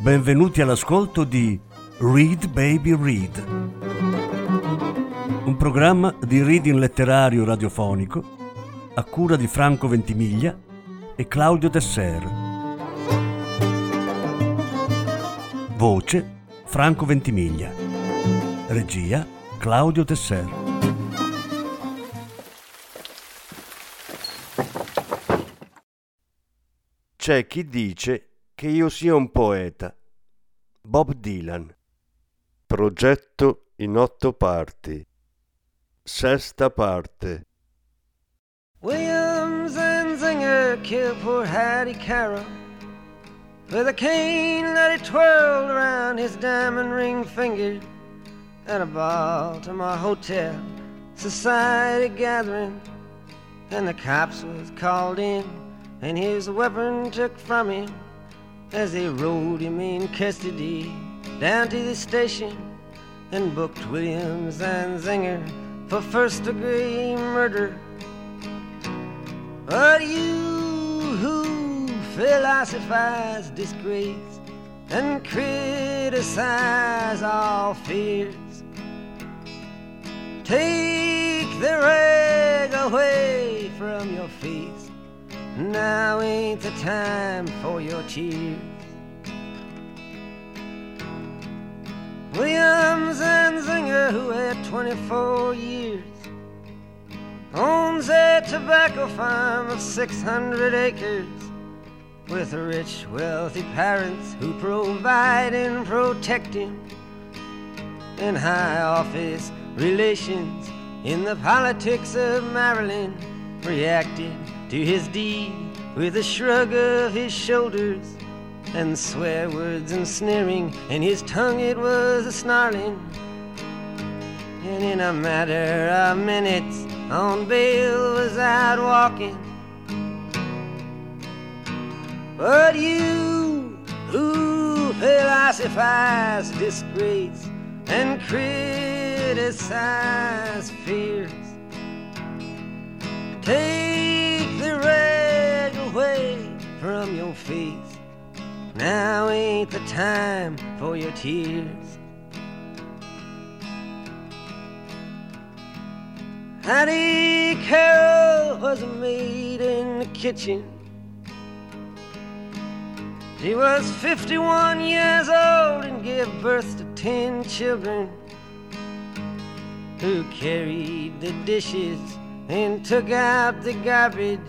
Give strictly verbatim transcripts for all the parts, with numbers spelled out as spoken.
Benvenuti all'ascolto di Read Baby Read, un programma di reading letterario radiofonico a cura di Franco Ventimiglia e Claudio Desser. Voce Franco Ventimiglia. Regia Claudio Desser. C'è chi dice che io sia un poeta. Bob Dylan. Progetto in otto parti. Sesta parte. Williams and Zinger killed poor Hattie Carroll with a cane that he twirled around his diamond ring finger at a Baltimore hotel society gathering, and the cops was called in and his weapon took from him as they rode him in custody down to the station and booked Williams and Zinger for first degree murder. But you who philosophize disgrace and criticize all fears, take the rag away from your face. Now ain't the time for your tears. Williams and Zinger, who had twenty-four years, owns a tobacco farm of six hundred acres with rich, wealthy parents who provide and protect him, and high office relations in the politics of Maryland reacted to his deed with a shrug of his shoulders and swear words and sneering, and his tongue it was a snarling. And in a matter of minutes on bail was out walking. But you who philosophize disgrace and criticize fears, take the rag away from your face. Now ain't the time for your tears. Hattie Carroll was a maid in the kitchen. She was fifty-one years old and gave birth to ten children, who carried the dishes and took out the garbage,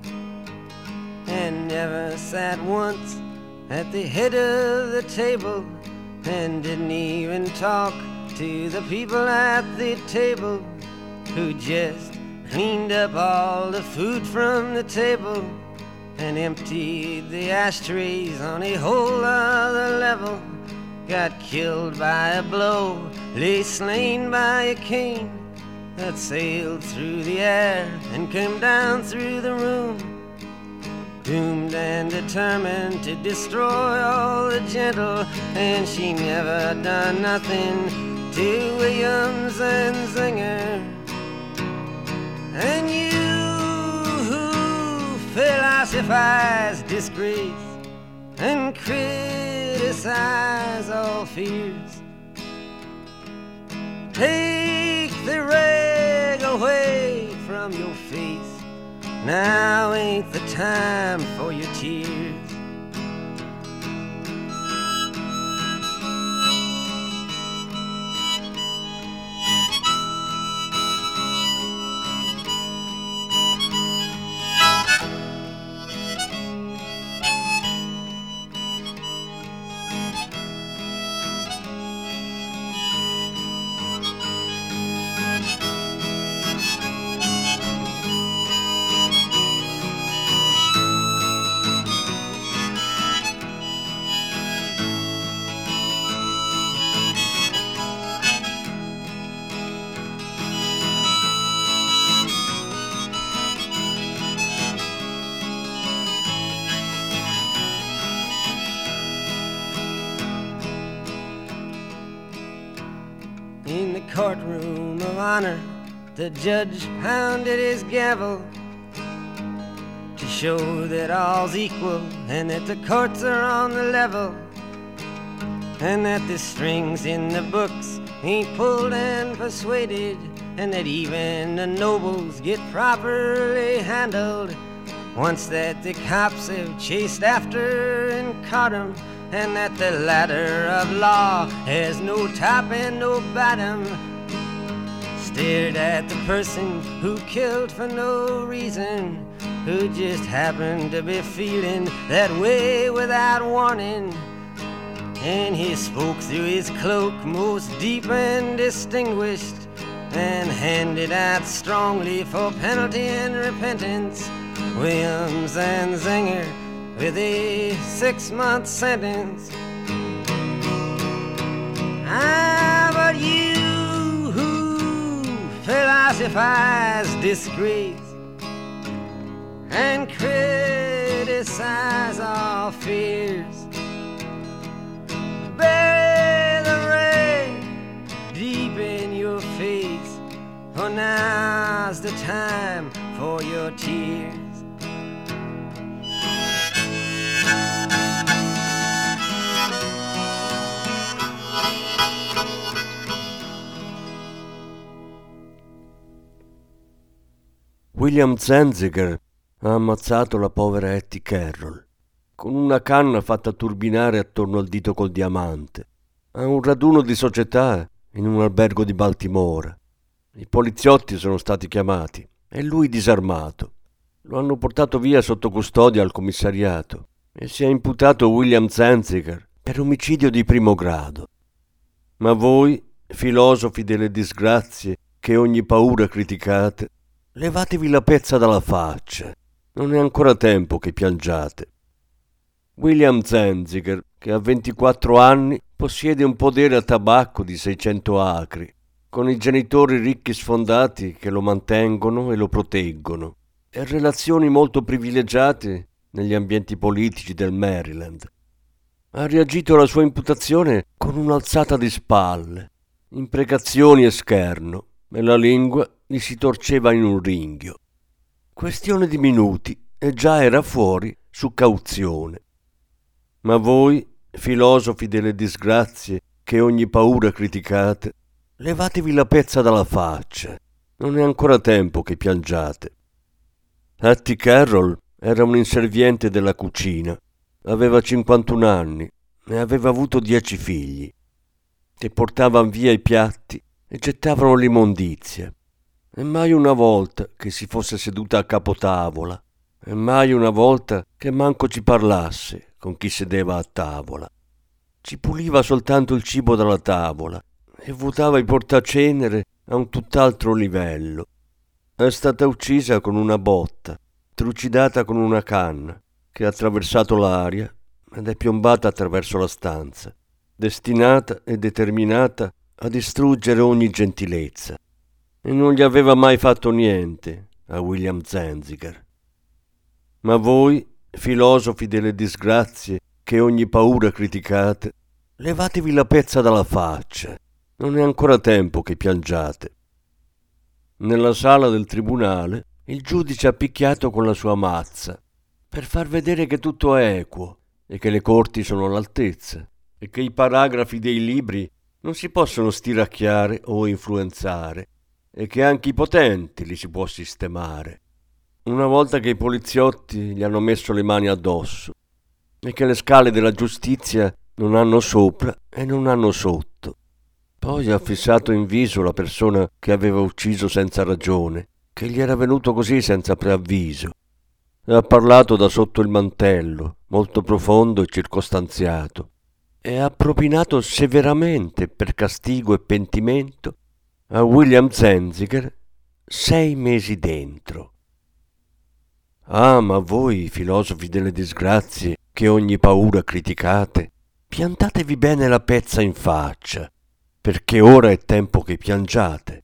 and never sat once at the head of the table, and didn't even talk to the people at the table, who just cleaned up all the food from the table and emptied the ashtrays on a whole other level, got killed by a blow, lay slain by a cane that sailed through the air and came down through the room, doomed and determined to destroy all the gentle, and she never done nothing to Williams and Zinger. And you who philosophize disgrace and criticize all fears, take the rag away from your face. Now ain't the time for your tears. In the courtroom of honor, the judge pounded his gavel to show that all's equal and that the courts are on the level. and that the strings in the books ain't pulled and persuaded, and that even the nobles get properly handled once that the cops have chased after and caught 'em, and that the ladder of law has no top and no bottom. Stared at the person who killed for no reason, who just happened to be feeling that way without warning, and he spoke through his cloak most deep and distinguished, and handed out strongly for penalty and repentance Williams and Zenger with a six-month sentence. Ah, but you who philosophize disgrace and criticize our fears, bury the rain deep in your face, for now's the time for your tears. William Zwanziger ha ammazzato la povera Hattie Carroll con una canna fatta turbinare attorno al dito col diamante a un raduno di società in un albergo di Baltimora. I poliziotti sono stati chiamati e lui disarmato. Lo hanno portato via sotto custodia al commissariato e si è imputato William Zwanziger per omicidio di primo grado. Ma voi, filosofi delle disgrazie che ogni paura criticate, levatevi la pezza dalla faccia. Non è ancora tempo che piangiate. William Zwanziger, che ha ventiquattro anni, possiede un podere a tabacco di seicento acri, con i genitori ricchi sfondati che lo mantengono e lo proteggono, e relazioni molto privilegiate negli ambienti politici del Maryland. Ha reagito alla sua imputazione con un'alzata di spalle, imprecazioni e scherno, e la lingua gli si torceva in un ringhio. Questione di minuti e già era fuori su cauzione. Ma voi, filosofi delle disgrazie che ogni paura criticate, levatevi la pezza dalla faccia. Non è ancora tempo che piangiate. Hattie Carroll era un inserviente della cucina, aveva cinquantuno anni e aveva avuto dieci figli, che portavano via i piatti e gettavano l'immondizia. E mai una volta che si fosse seduta a capotavola, e mai una volta che manco ci parlasse con chi sedeva a tavola. Ci puliva soltanto il cibo dalla tavola e vuotava i portacenere a un tutt'altro livello. È stata uccisa con una botta, trucidata con una canna, che ha attraversato l'aria ed è piombata attraverso la stanza, destinata e determinata a distruggere ogni gentilezza. E non gli aveva mai fatto niente a William Zwanziger. Ma voi, filosofi delle disgrazie che ogni paura criticate, levatevi la pezza dalla faccia. Non è ancora tempo che piangiate. Nella sala del tribunale il giudice ha picchiato con la sua mazza per far vedere che tutto è equo e che le corti sono all'altezza e che i paragrafi dei libri non si possono stiracchiare o influenzare e che anche i potenti li si può sistemare. Una volta che i poliziotti gli hanno messo le mani addosso e che le scale della giustizia non hanno sopra e non hanno sotto. Poi ha fissato in viso la persona che aveva ucciso senza ragione, che gli era venuto così senza preavviso. E ha parlato da sotto il mantello, molto profondo e circostanziato, e ha propinato severamente per castigo e pentimento a William Zwanziger sei mesi dentro. Ah, ma voi, filosofi delle disgrazie, che ogni paura criticate, piantatevi bene la pezza in faccia, perché ora è tempo che piangiate.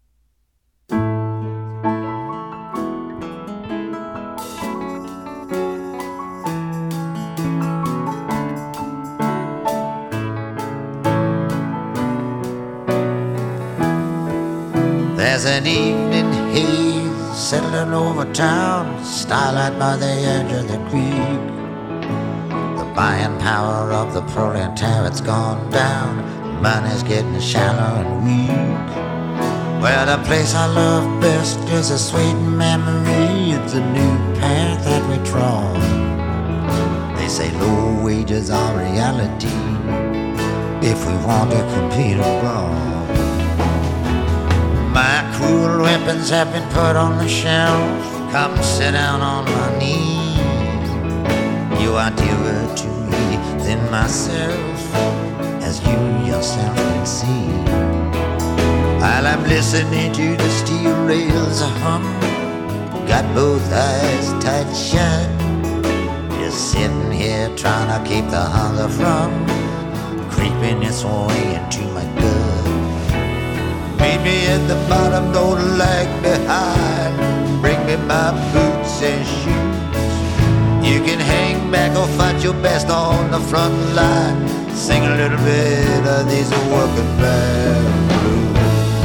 There's an evening haze settling over town, starlight by the edge of the creek. The buying power of the proletariat's gone down. Money's getting shallow and weak. Well, the place I love best is a sweet memory. It's a new path that we trod. They say low wages are reality if we want to compete abroad. My cruel weapons have been put on the shelf. Come sit down on my knee. You are dearer to me than myself, as you yourself can see. While I'm listening to the steel rails hum, got both eyes tight shut, just sitting here trying to keep the hunger from creeping its way into my gut. Meet me at the bottom, don't lag behind. Bring me my boots and shoes. You can hang back or fight your best on the front line. Sing a little bit of these working man blues.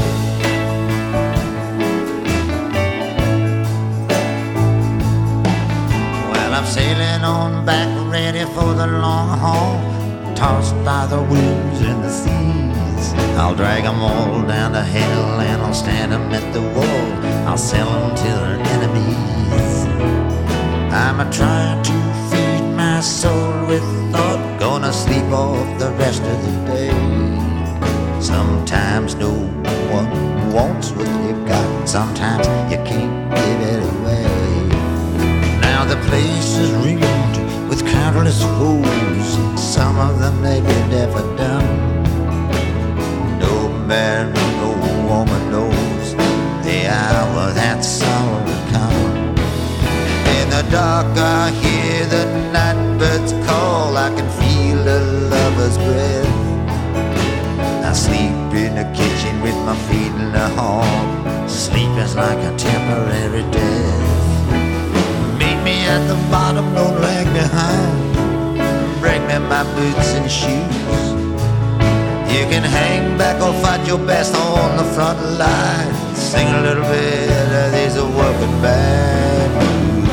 Well, I'm sailing on back, ready for the long haul, tossed by the winds and the seas. I'll drag them all down to hell and I'll stand them at the wall. I'll sell them to their enemies. I'm a trying to feed my soul with thought, gonna sleep off the rest of the day. Sometimes no one wants what you've got, sometimes you can't give it away. Now the place is ringed with countless foes, some of them may be deaf or dumb. No man, no woman knows the hour that sorrow will come. In the dark I hear the night birds call, I can feel a lover's breath. I sleep in the kitchen with my feet in the hall. Sleep is like a temporary death. Meet me at the bottom, don't lag behind. Bring me my boots and shoes. You can hang back or fight your best on the front line. Sing a little bit of these working band blues.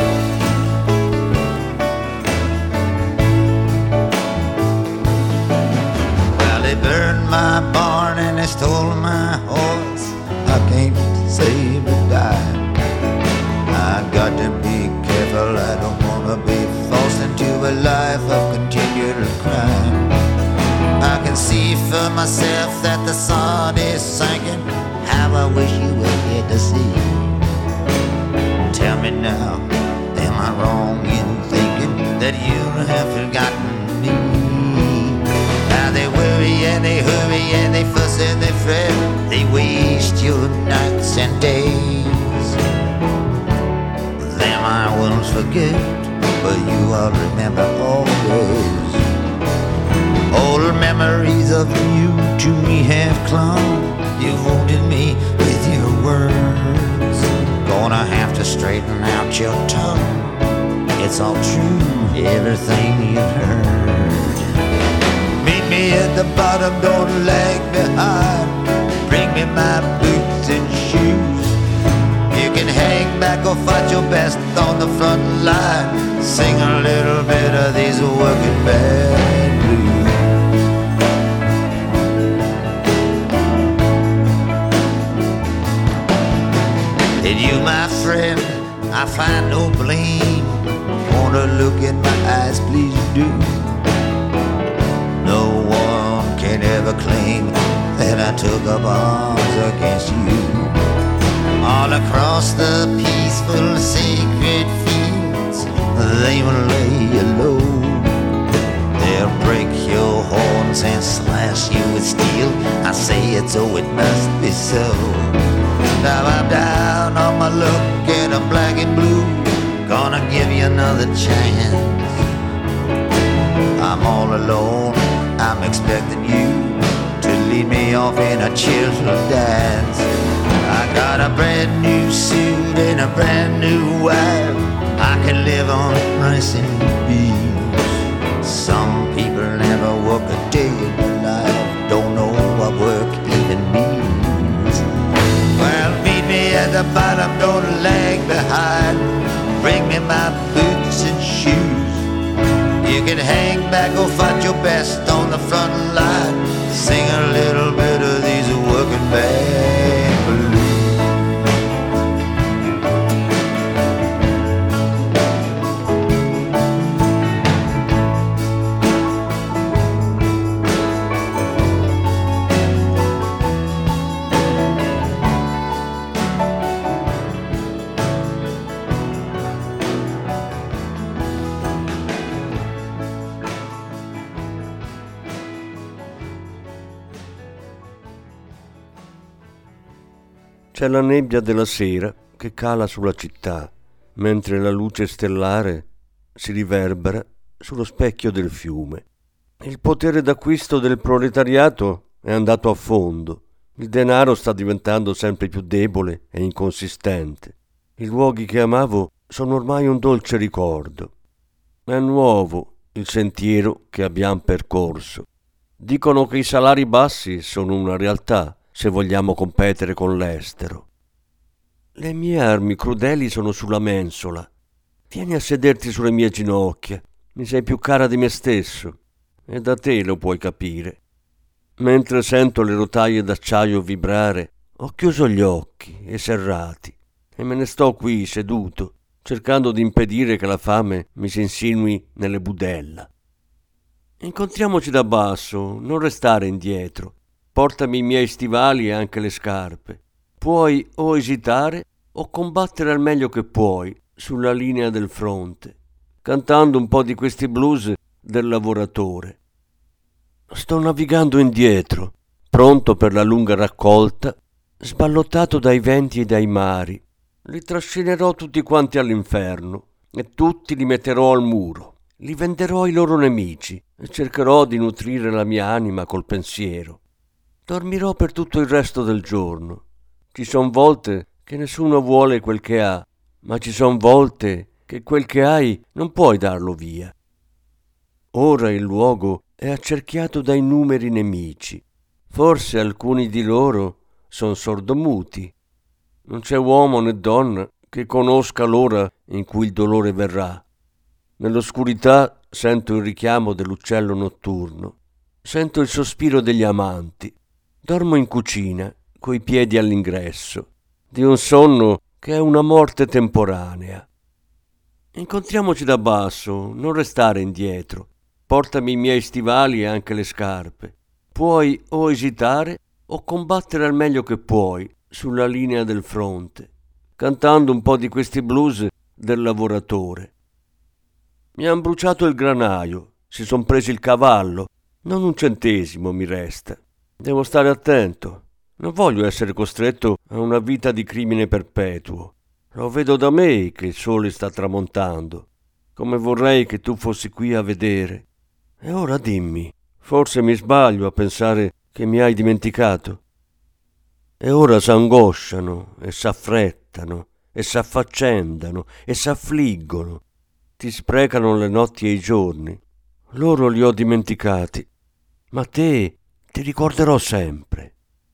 Well, they burned my barn and they stole my horse. I can't say but die. I got to be careful, I don't wanna be forced into a life of continual crime. I can see for myself that the sun is sinking. How I wish you were here to see. Tell me now, am I wrong in thinking that you have forgotten me? Now they worry and they hurry and they fuss and they fret. They waste your nights and days. Them I won't forget, but you I'll remember always. Old memories of you to me have clung. You wounded me with your words. Gonna have to straighten out your tongue. It's all true, everything you've heard. Meet me at the bottom, don't lag behind. Bring me my boots and shoes. You can hang back or fight your best on the front line. Sing a little bit of these working band blues. In you, my friend, I find no blame. Wanna look in my eyes, please do. No one can ever claim that I took up arms against you. All across the peaceful, sacred fields, they will lay you low. They'll break your horns and slash you with steel. I say it so it must be so. Now I'm down on my luck and I'm black and blue. Gonna give you another chance. I'm all alone, I'm expecting you to lead me off in a cheerful dance. I got a brand new suit and a brand new wife. I can live on rice and beans. Some people never work a day in their life, don't know what work even means. Well, meet me at the bottom, don't lag behind. Bring me my boots and shoes. You can can hang back or fight your best on the front line. Sing a little bit of these working band blues. C'è la nebbia della sera che cala sulla città, mentre la luce stellare si riverbera sullo specchio del fiume. Il potere d'acquisto del proletariato è andato a fondo. Il denaro sta diventando sempre più debole e inconsistente. I luoghi che amavo sono ormai un dolce ricordo. È nuovo il sentiero che abbiamo percorso. Dicono che i salari bassi sono una realtà se vogliamo competere con l'estero. Le mie armi crudeli sono sulla mensola. Vieni a sederti sulle mie ginocchia. Mi sei più cara di me stesso e da te lo puoi capire. Mentre sento le rotaie d'acciaio vibrare, ho chiuso gli occhi e serrati e me ne sto qui seduto, cercando di impedire che la fame mi si insinui nelle budella. Incontriamoci da basso, non restare indietro. Portami i miei stivali e anche le scarpe. Puoi o esitare o combattere al meglio che puoi sulla linea del fronte, cantando un po' di questi blues del lavoratore. Sto navigando indietro, pronto per la lunga raccolta, sballottato dai venti e dai mari. Li trascinerò tutti quanti all'inferno e tutti li metterò al muro. Li venderò ai loro nemici e cercherò di nutrire la mia anima col pensiero. Dormirò per tutto il resto del giorno. Ci son volte che nessuno vuole quel che ha, ma ci son volte che quel che hai non puoi darlo via. Ora il luogo è accerchiato dai numeri nemici. Forse alcuni di loro son sordomuti. Non c'è uomo né donna che conosca l'ora in cui il dolore verrà. Nell'oscurità sento il richiamo dell'uccello notturno. Sento il sospiro degli amanti. Dormo in cucina, coi piedi all'ingresso, di un sonno che è una morte temporanea. Incontriamoci da basso, non restare indietro. Portami i miei stivali e anche le scarpe. Puoi o esitare o combattere al meglio che puoi sulla linea del fronte, cantando un po' di questi blues del lavoratore. Mi han bruciato il granaio, si son presi il cavallo, non un centesimo mi resta. Devo stare attento. Non voglio essere costretto a una vita di crimine perpetuo. Lo vedo da me che il sole sta tramontando. Come vorrei che tu fossi qui a vedere. E ora dimmi, forse mi sbaglio a pensare che mi hai dimenticato? E ora s'angosciano e s'affrettano e s'affaccendano e s'affliggono. Ti sprecano le notti e i giorni. Loro li ho dimenticati. Ma te ti ricorderò sempre.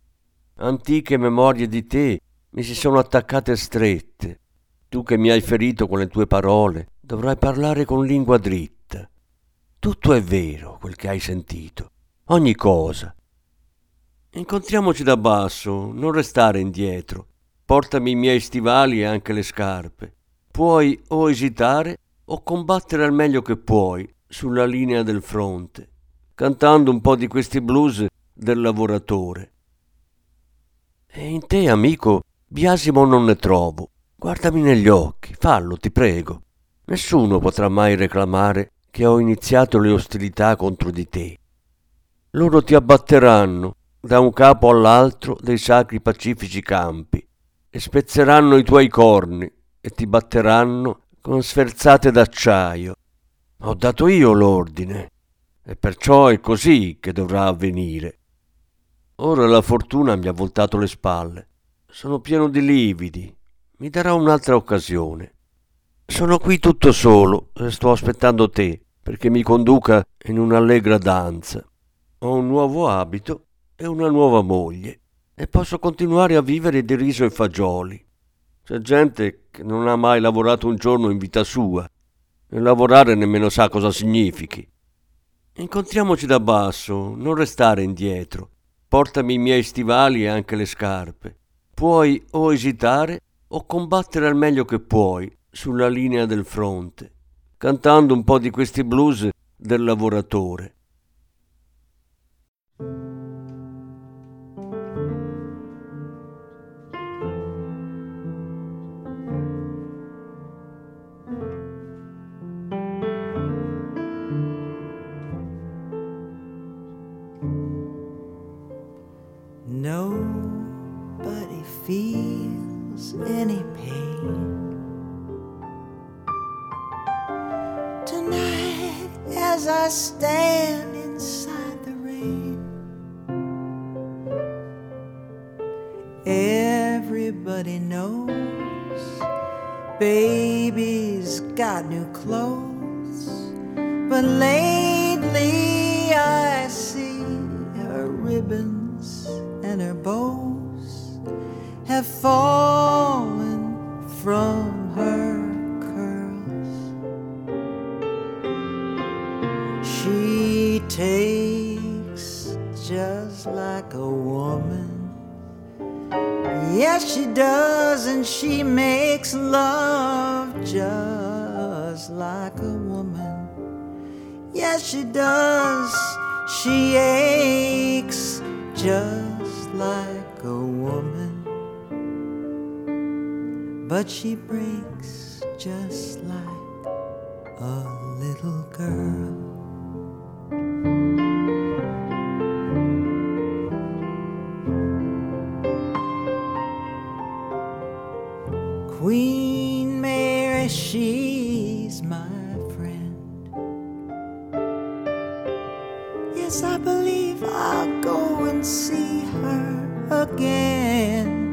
Antiche memorie di te mi si sono attaccate strette. Tu che mi hai ferito con le tue parole, dovrai parlare con lingua dritta. Tutto è vero quel che hai sentito, ogni cosa. Incontriamoci da basso, non restare indietro. Portami i miei stivali e anche le scarpe. Puoi o esitare o combattere al meglio che puoi sulla linea del fronte, cantando un po' di questi blues del lavoratore. E in te, amico, biasimo non ne trovo. Guardami negli occhi, fallo, ti prego. Nessuno potrà mai reclamare che ho iniziato le ostilità contro di te. Loro ti abbatteranno da un capo all'altro dei sacri pacifici campi e spezzeranno i tuoi corni e ti batteranno con sferzate d'acciaio. Ho dato io l'ordine e perciò è così che dovrà avvenire. Ora la fortuna mi ha voltato le spalle. Sono pieno di lividi. Mi darà un'altra occasione. Sono qui tutto solo e sto aspettando te perché mi conduca in un'allegra danza. Ho un nuovo abito e una nuova moglie e posso continuare a vivere di riso e fagioli. C'è gente che non ha mai lavorato un giorno in vita sua. e lavorare nemmeno sa cosa significhi. Incontriamoci da basso, non restare indietro. Portami i miei stivali e anche le scarpe. Puoi o esitare o combattere al meglio che puoi sulla linea del fronte, cantando un po' di questi blues del lavoratore. Nobody feels any pain tonight as I stand inside the rain. Everybody knows baby's got new clothes, but lately I see her ribbons and her bows have fallen from her curls. She takes just like a woman. Yes, she does, and she makes love just like a woman. Yes, she does. She aches just like a woman, but she breaks just like a little girl. Queen Mary, she's my friend. Yes, I believe I'll go and see her again.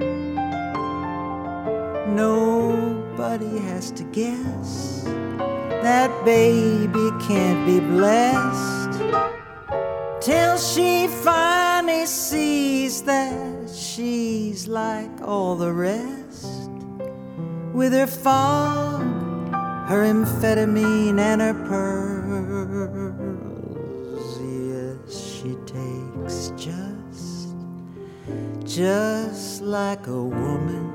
Nobody has to guess that baby can't be blessed till she finally sees that she's like all the rest, with her fog, her amphetamine, and her pearls. Yes, she takes just, just like a woman.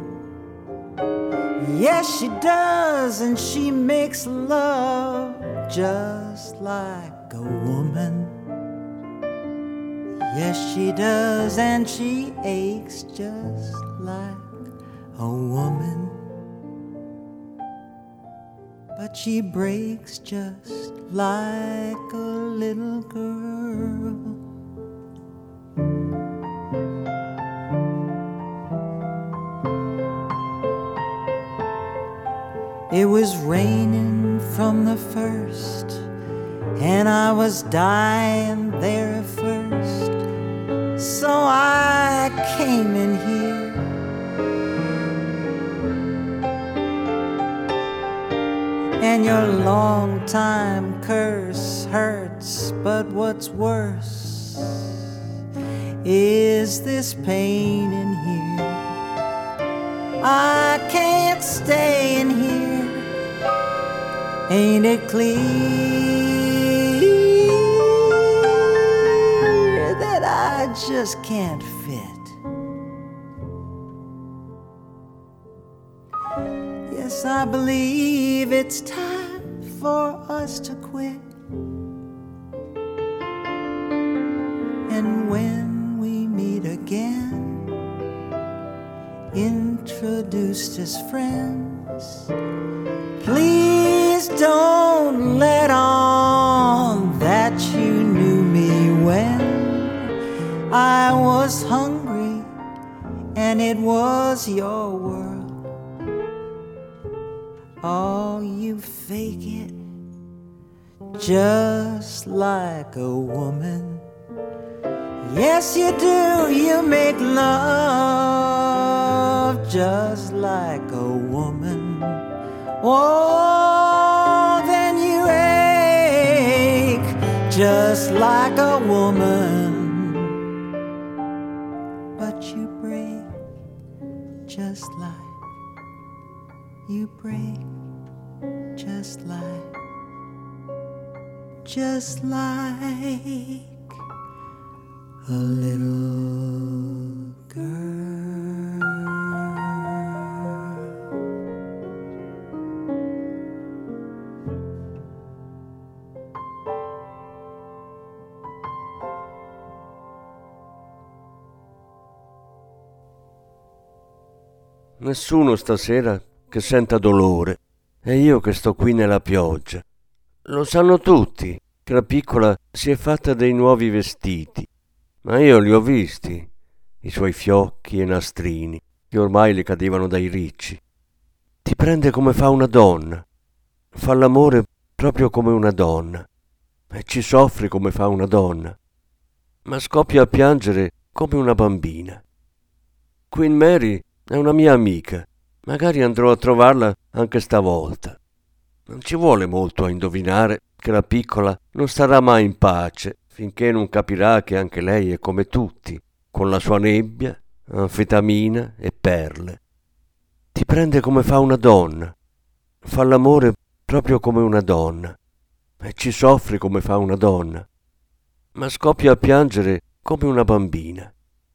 Yes, she does, and she makes love just like a woman. Yes, she does, and she aches just like a woman. But she breaks just like a little girl. It was raining from the first, and I was dying there at first, so I came in here. And your long time curse hurts, but what's worse is this pain in here. I can't stay in here. Ain't it clear that I just can't fit? Yes, I believe it's time for us to quit. And when we meet again, introduced as friends, please don't let on that you knew me when I was hungry and it was your world. Oh, you fake it just like a woman. Yes, you do. You make love just like a woman. Oh, then you ache just like a woman. But you break just like, you break just like just like a little girl. Nessuno stasera che senta dolore, e io che sto qui nella pioggia. Lo sanno tutti che la piccola si è fatta dei nuovi vestiti, ma io li ho visti, i suoi fiocchi e nastrini, che ormai le cadevano dai ricci. Ti prende come fa una donna, fa l'amore proprio come una donna, e ci soffre come fa una donna, ma scoppia a piangere come una bambina. Queen Mary è una mia amica, magari andrò a trovarla anche stavolta. Non ci vuole molto a indovinare che la piccola non starà mai in pace finché non capirà che anche lei è come tutti, con la sua nebbia, anfetamina e perle. Ti prende come fa una donna, fa l'amore proprio come una donna, e ci soffre come fa una donna, ma scoppia a piangere come una bambina.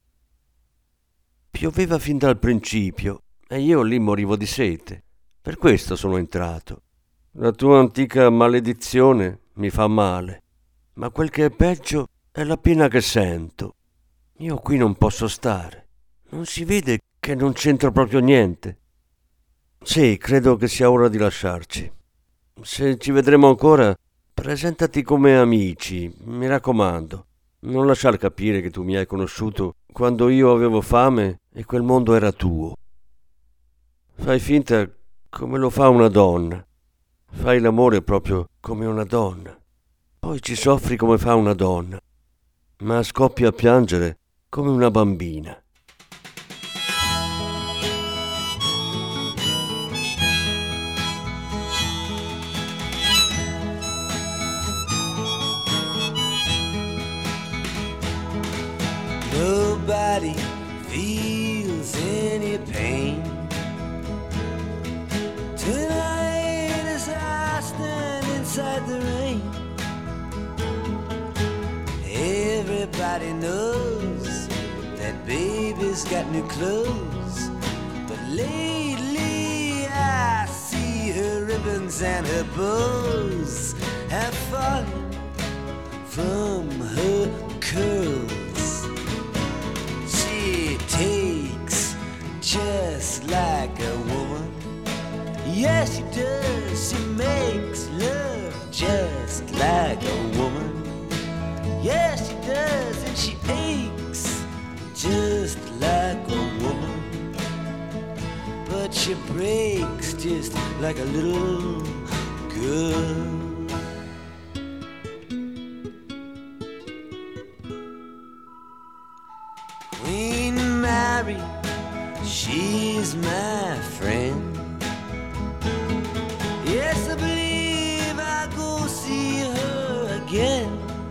Pioveva fin dal principio e io lì morivo di sete. Per questo sono entrato. La tua antica maledizione mi fa male, ma quel che è peggio è la pena che sento. Io qui non posso stare. Non si vede che non c'entro proprio niente? Sì, credo che sia ora di lasciarci. Se ci vedremo ancora, presentati come amici, mi raccomando. Non lasciar capire che tu mi hai conosciuto quando io avevo fame e quel mondo era tuo. Fai finta come lo fa una donna. Fai l'amore proprio come una donna. Poi ci soffri come fa una donna, ma scoppi a piangere come una bambina. Nobody feels any pain tonight as I stand inside the rain. Everybody knows that baby's got new clothes, but lately I see her ribbons and her bows have fallen from her curls. She takes just like a woman. Yes, she does. She makes love just like a woman. Yes, she does. And she aches just like a woman. But she breaks just like a little girl. Queen Mary, she's my friend. Yes, I believe I'll go see her again.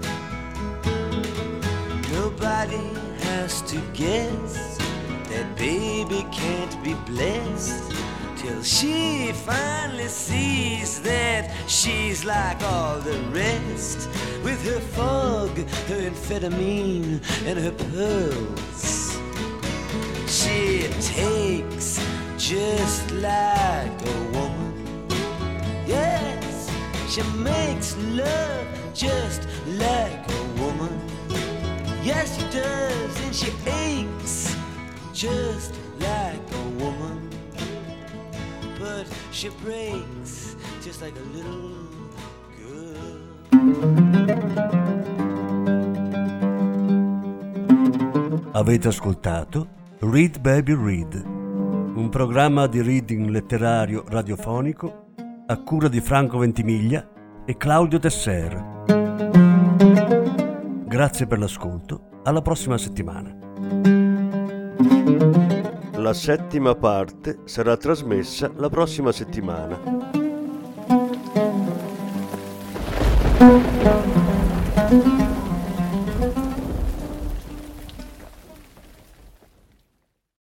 Nobody has to guess that baby can't be blessed till she finally sees that she's like all the rest, with her fog, her amphetamine, and her pearls. She takes just like a woman. Yes, she makes love just like a woman. Yes, she does, and she aches just like a woman. But she breaks just like a little girl. Avete ascoltato Read Baby Read, un programma di reading letterario radiofonico a cura di Franco Ventimiglia e Claudio Tesser. Grazie per l'ascolto, alla prossima settimana. La settima parte sarà trasmessa la prossima settimana.